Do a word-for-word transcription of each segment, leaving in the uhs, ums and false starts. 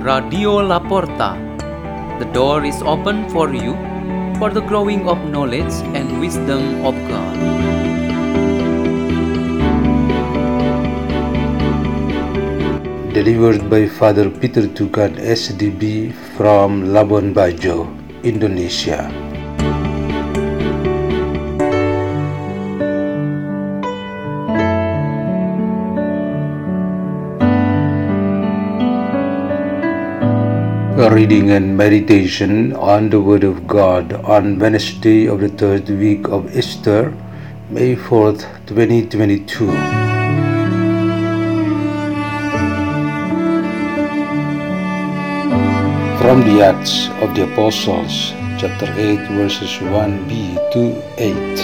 Radio Laporta. The door is open for you for the growing of knowledge and wisdom of God. Delivered by Father Peter Tukan S D B from Labuan Bajo, Indonesia. A reading and meditation on the Word of God on Wednesday of the third week of Easter, May fourth, twenty twenty-two. From the Acts of the Apostles, chapter eight, verses one b to eight.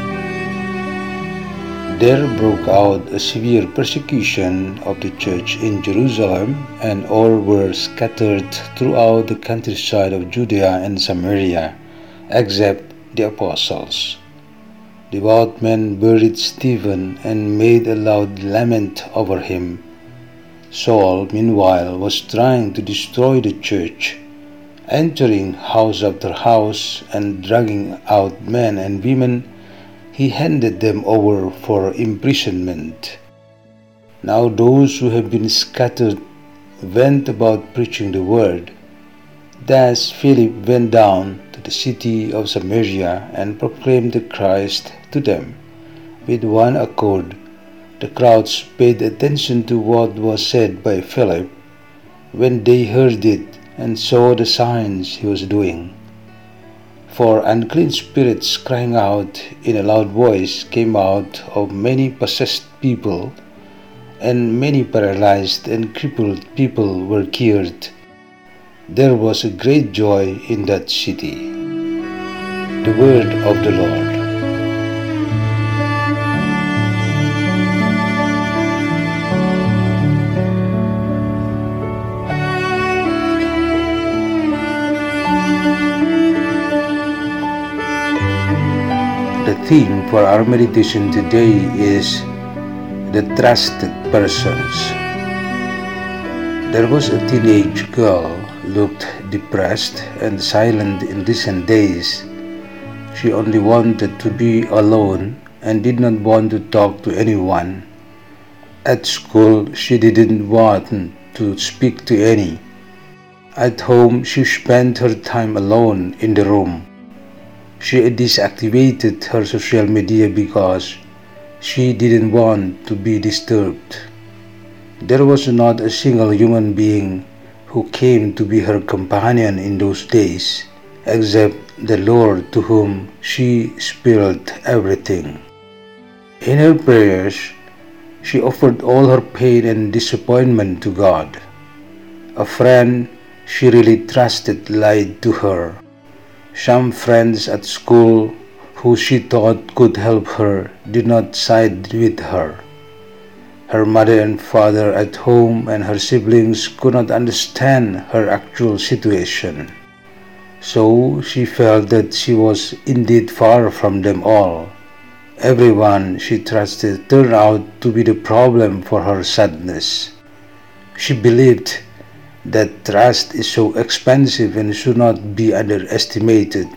There broke out a severe persecution of the church in Jerusalem, and all were scattered throughout the countryside of Judea and Samaria, except the apostles. Devout men buried Stephen and made a loud lament over him. Saul, meanwhile, was trying to destroy the church, entering house after house and dragging out men and women. He handed them over for imprisonment. Now those who have been scattered went about preaching the word. Thus Philip went down to the city of Samaria and proclaimed the Christ to them. With one accord, the crowds paid attention to what was said by Philip when they heard it and saw the signs he was doing. For unclean spirits crying out in a loud voice came out of many possessed people, and many paralyzed and crippled people were cured. There was a great joy in that city. The word of the Lord. The theme for our meditation today is the trusted persons. There was a teenage girl looked depressed and silent in recent days. She only wanted to be alone and did not want to talk to anyone. At school, she didn't want to speak to any. At home, she spent her time alone in the room. She deactivated her social media because she didn't want to be disturbed. There was not a single human being who came to be her companion in those days, except the Lord, to whom she spilled everything. In her prayers, she offered all her pain and disappointment to God. A friend she really trusted lied to her. Some friends at school who she thought could help her did not side with her. Her mother and father at home and her siblings could not understand her actual situation. So she felt that she was indeed far from them all. Everyone she trusted turned out to be the problem for her sadness. She believed that trust is so expensive and should not be underestimated.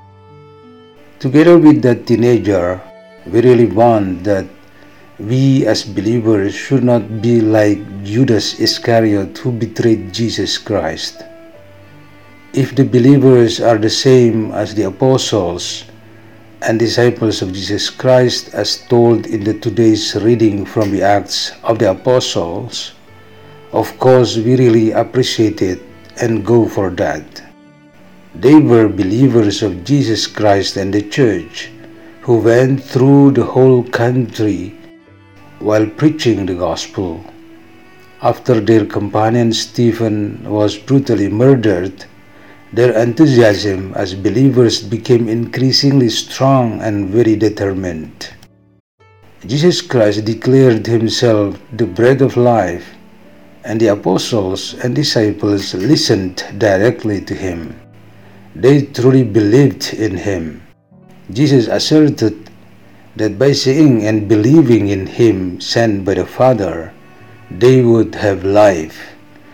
Together with that teenager, we really want that we as believers should not be like Judas Iscariot who betrayed Jesus Christ. If the believers are the same as the apostles and disciples of Jesus Christ as told in the today's reading from the Acts of the Apostles, of course, we really appreciate it and go for that. They were believers of Jesus Christ and the church who went through the whole country while preaching the gospel. After their companion Stephen was brutally murdered, their enthusiasm as believers became increasingly strong and very determined. Jesus Christ declared himself the bread of life, and the apostles and disciples listened directly to him. They truly believed in him. Jesus asserted that by seeing and believing in him sent by the Father, they would have life,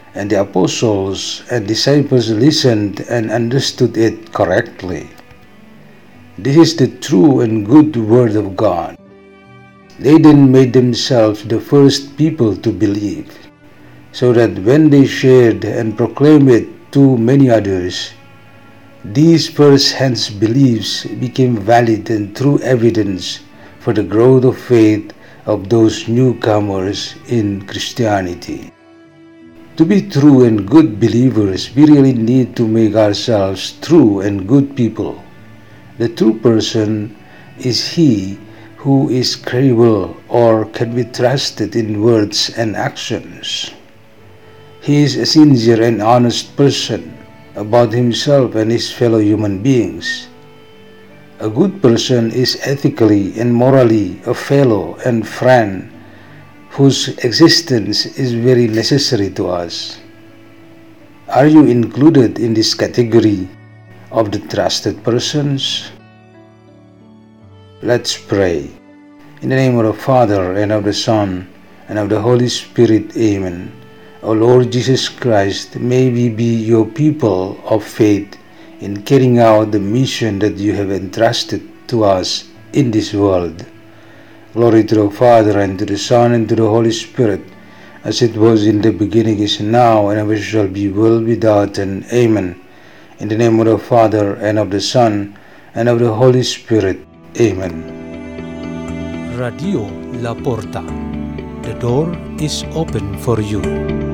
and the apostles and disciples listened and understood it correctly. This is the true and good word of God. They then made themselves the first people to believe, so that when they shared and proclaimed it to many others, these first-hand beliefs became valid and true evidence for the growth of faith of those newcomers in Christianity. To be true and good believers, we really need to make ourselves true and good people. The true person is he who is credible or can be trusted in words and actions. He is a sincere and honest person about himself and his fellow human beings. A good person is ethically and morally a fellow and friend whose existence is very necessary to us. Are you included in this category of the trusted persons? Let's pray. In the name of the Father, and of the Son, and of the Holy Spirit. Amen. O Lord Jesus Christ, may we be your people of faith in carrying out the mission that you have entrusted to us in this world. Glory to the Father, and to the Son, and to the Holy Spirit, as it was in the beginning, is now, and ever shall be, world without end. Amen. In the name of the Father, and of the Son, and of the Holy Spirit. Amen. Radio La Porta. The door is open for you.